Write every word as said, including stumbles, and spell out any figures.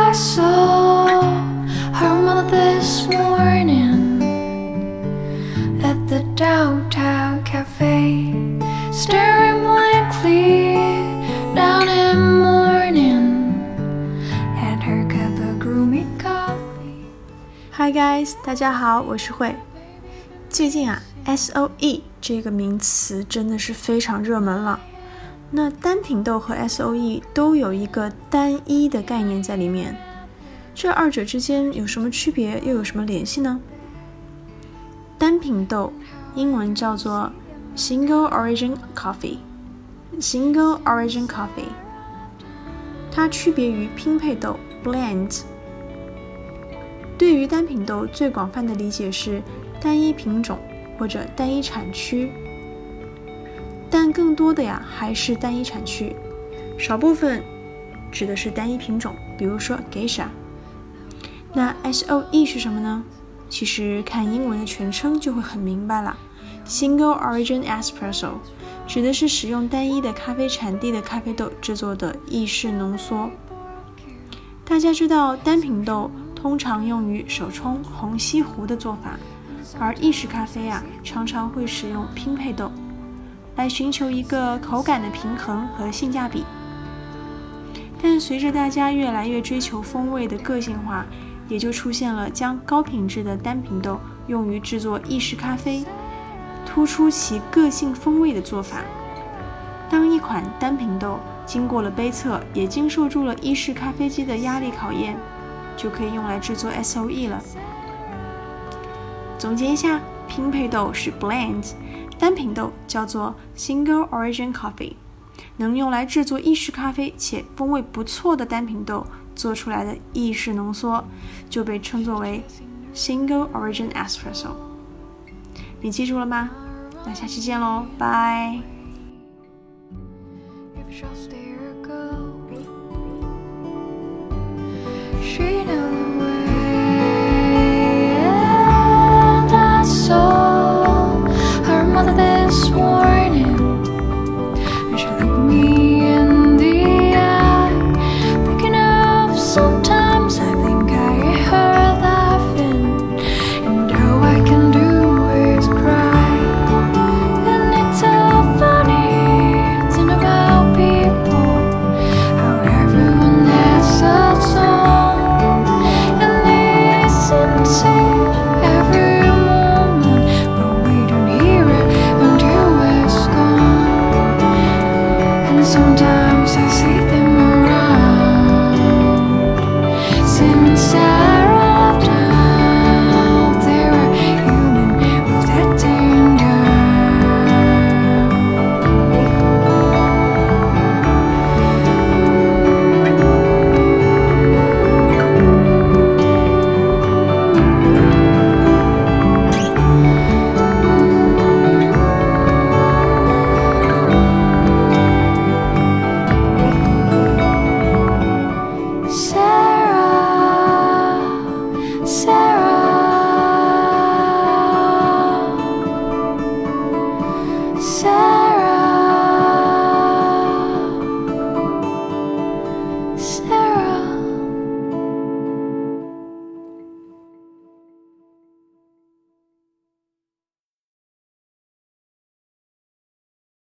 I saw her mother this morning at the downtown cafe, staring blankly down in mourning at her cup of gloomy coffee. Hi guys, 大家好，我是慧。最近啊 S O E 这个名词真的是非常热门了。那单品豆和 S O E 都有一个单一的概念在里面，这二者之间有什么区别，又有什么联系呢？单品豆英文叫做 Single Origin Coffee Single Origin Coffee 它区别于拼配豆 Blend。 对于单品豆最广泛的理解是单一品种或者单一产区，但更多的呀还是单一产区，少部分指的是单一品种，比如说 Geisha。 那 S O E 是什么呢？其实看英文的全称就会很明白了。 Single Origin Espresso 指的是使用单一的咖啡产地的咖啡豆制作的意式浓缩。大家知道单品豆通常用于手冲虹吸壶的做法，而意式咖啡啊常常会使用拼配豆来寻求一个口感的平衡和性价比。但随着大家越来越追求风味的个性化，也就出现了将高品质的单品豆用于制作意式咖啡，突出其个性风味的做法。当一款单品豆经过了杯测，也经受住了意式咖啡机的压力考验，就可以用来制作 S O E 了。总结一下，拼配豆是 Blend， 单品豆叫做 Single Origin Coffee， 能用来制作意式咖啡且风味不错的单品豆做出来的意式浓缩就被称作为 Single Origin Espresso。 你记住了吗？那下期见咯，拜。 If you shall stay